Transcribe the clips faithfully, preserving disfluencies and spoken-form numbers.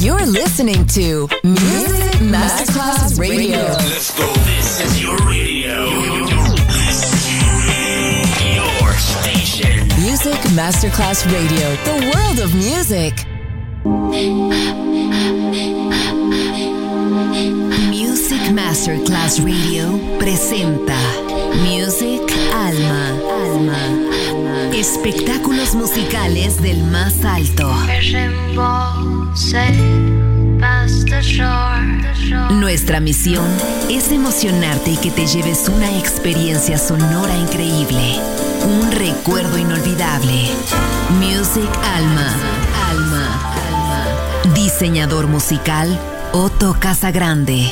You're listening to Music Masterclass Radio. Let's go. This is your radio. Your station. Music Masterclass Radio. The world of music. Music Masterclass Radio presenta Music Alma. Alma. Espectáculos musicales del más alto. Nuestra misión es emocionarte y que te lleves una experiencia sonora increíble, un recuerdo inolvidable. Music Alma. Alma. Alma. Diseñador musical Otto Casagrande.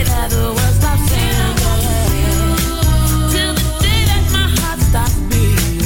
Till the day that my heart stops beating.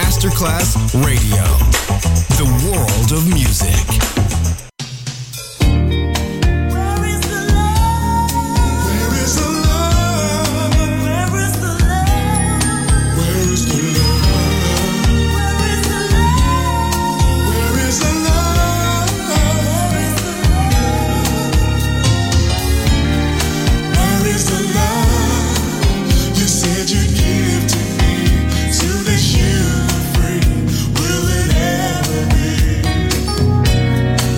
Masterclass Radio, the world of music. Will it ever be?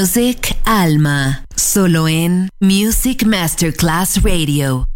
Music Alma, solo en Music Masterclass Radio.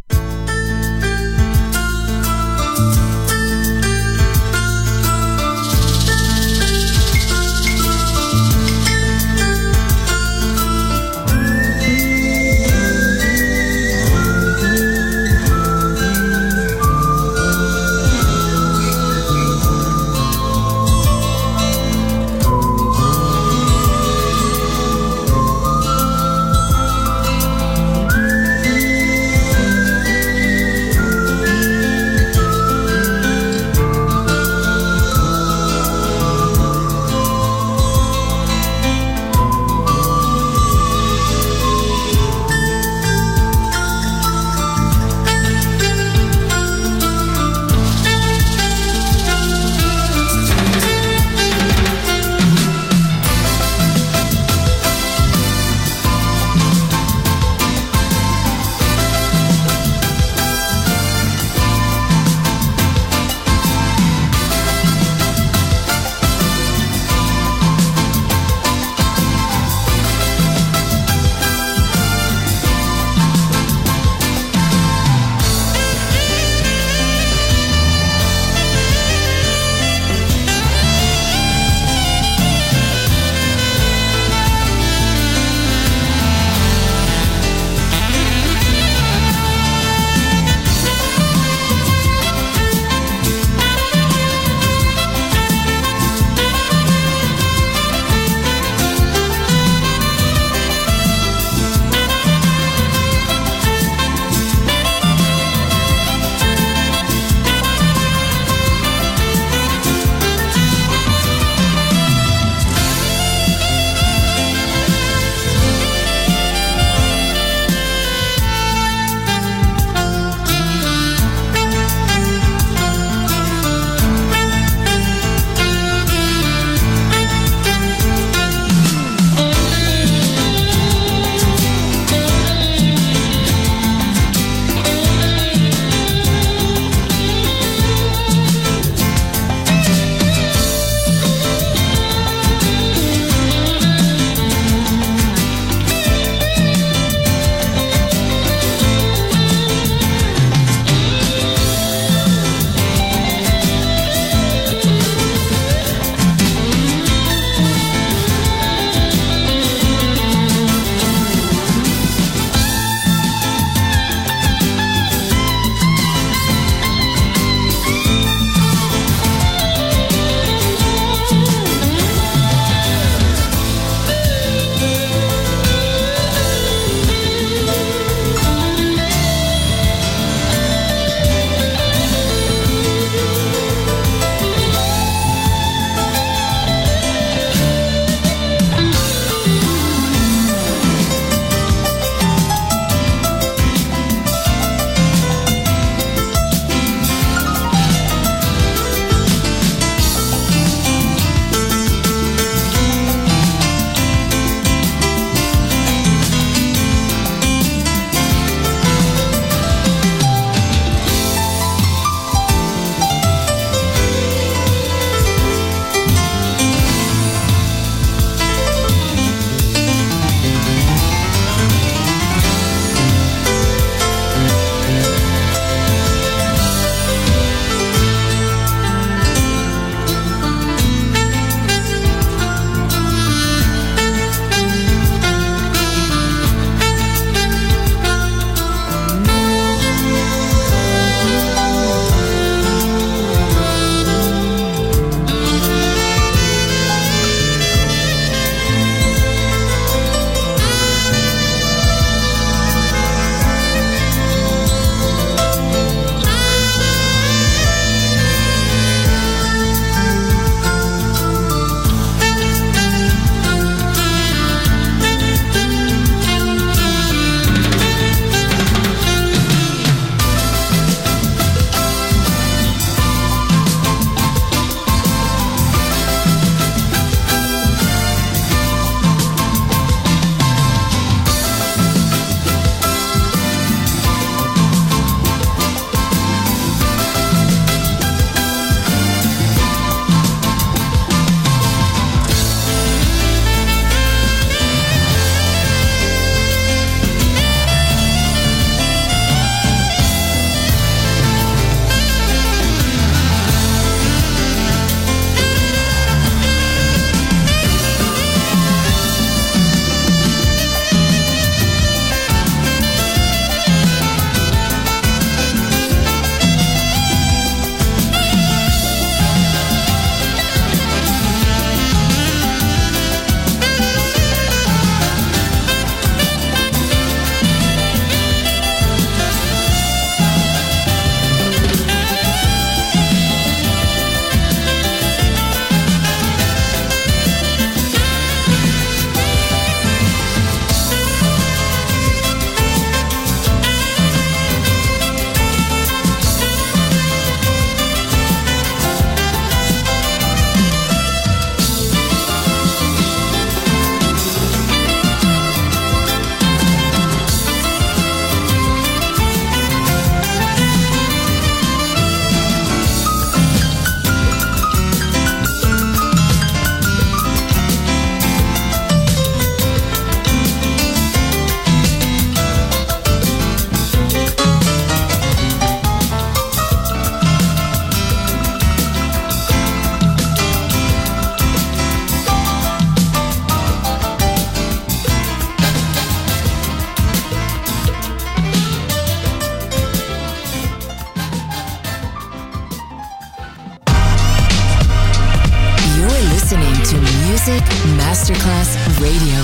Masterclass Radio.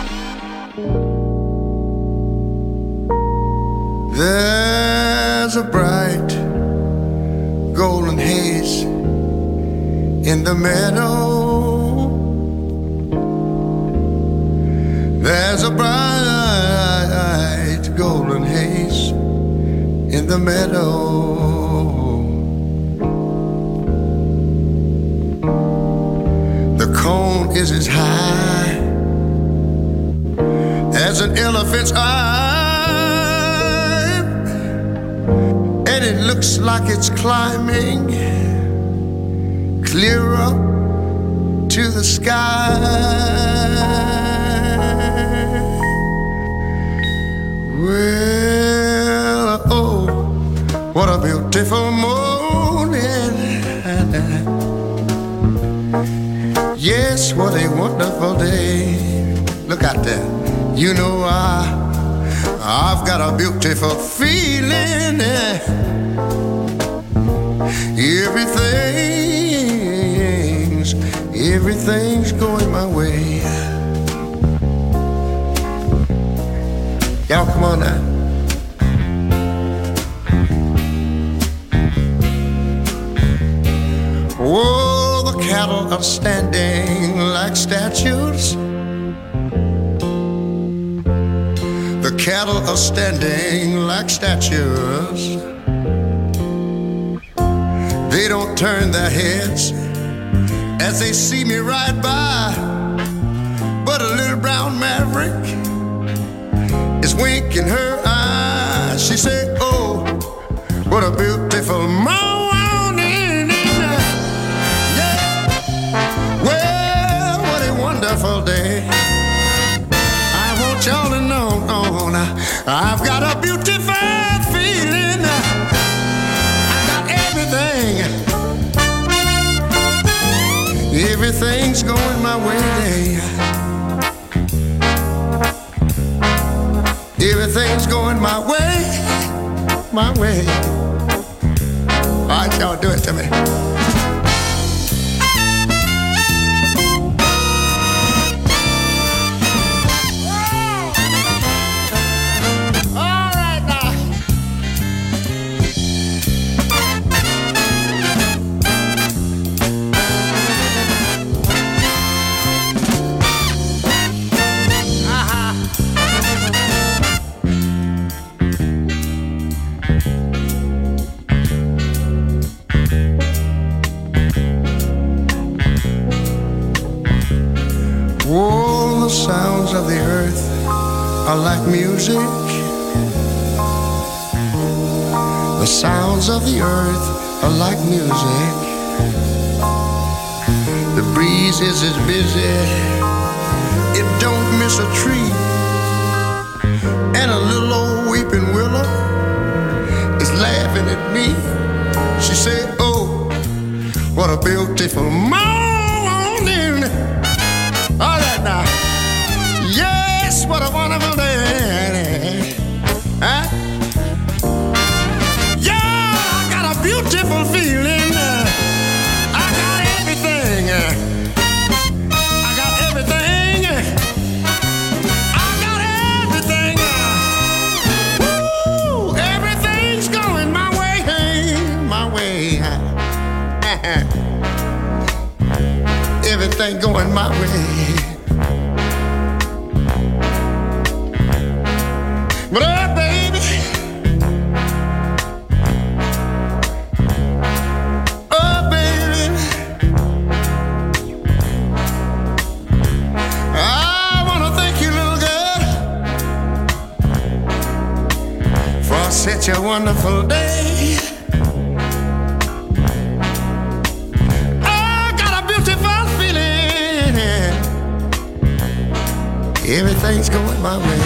There's a bright golden haze in the meadow. There's a bright golden haze in the meadow. The cone is as high as an elephant's eye, and it looks like it's climbing clear up to the sky. Well, oh, what a beautiful morning. Yes, what a wonderful day. Look out there. You know I, I've got a beautiful feeling. Everything's, everything's going my way. Y'all come on now. Oh, the cattle are standing like statues. The cattle are standing like statues. They don't turn their heads as they see me ride by, but a little brown maverick is winking her eyes. She said, oh, what a beautiful morning. Yeah. Well, what a wonderful day. I want y'all to know, oh, now, I've got a beautiful feeling. I got everything. Everything's going my way. Everything's going my way, my way. All right, y'all, do it to me. All right, now. Oh, the sounds of the earth are like music. The sounds of the earth are like music. The breeze is as busy, it don't miss a tree. And a little old weeping willow is laughing at me. She said, oh, what a beautiful morning. All right now. Yes, what a wonderful day. Huh? Yeah, I got a beautiful feeling. I got everything. I got everything. I got everything. Woo! Everything's going my way, my way. Everything going my way. But oh, baby, oh, baby, I want to thank you, little girl, for such a wonderful day. I got a beautiful feeling. Everything's going my way.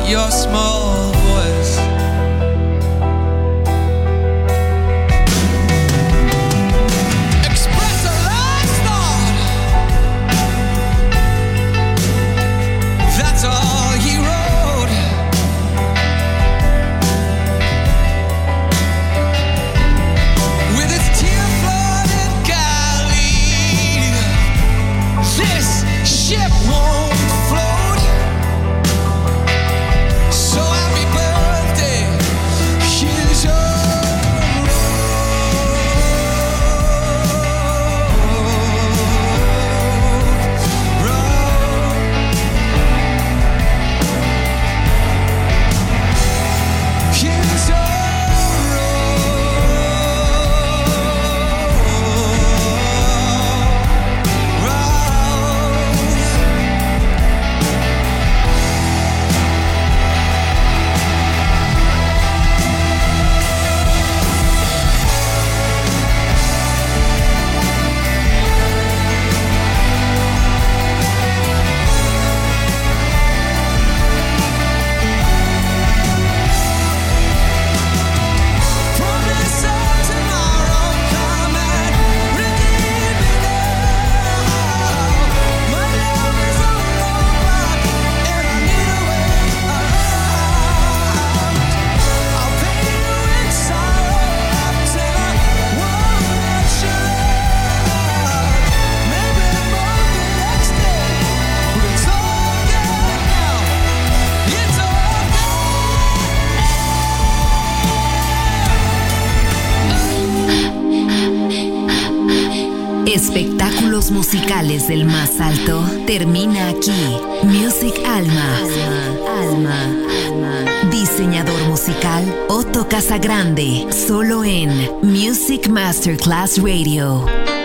your small voice. Express a last thought. That's all he wrote. With its tear-flooded galley, this ship won't float. So happy birthday, here's your road. Here's your promise of tomorrow, come and redeem me now. My love is a roadblock and I need a way around. I'll pay you in sorrow till I won't let you out. Maybe more the next day, but it's all good now. It's all Espectáculos musicales del más alto termina aquí. Music Alma. Alma. Alma. Diseñador musical Otto Casagrande. Solo en Music Masterclass Radio.